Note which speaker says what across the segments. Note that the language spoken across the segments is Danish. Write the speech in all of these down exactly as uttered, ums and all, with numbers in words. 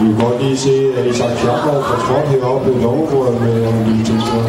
Speaker 1: Vi kan godt lige se, at Isak Kjærgaard får trådt heroppe i Lovrebordet med en lille tilsøger.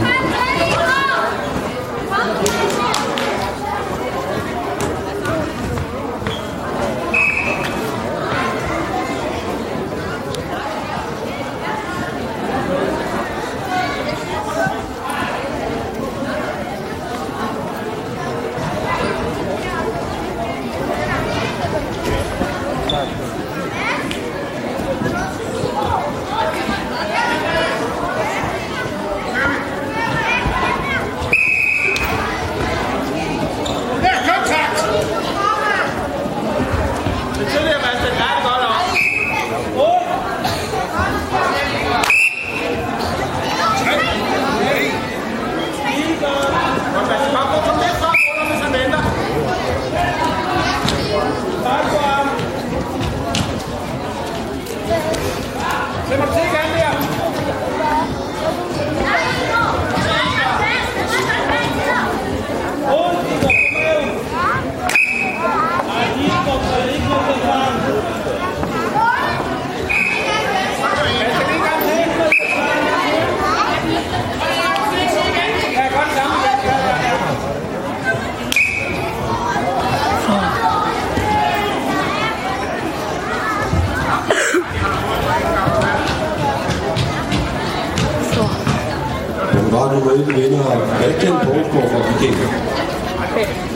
Speaker 1: Nummer et vinder Christian Poulsgaard fra Vikinger.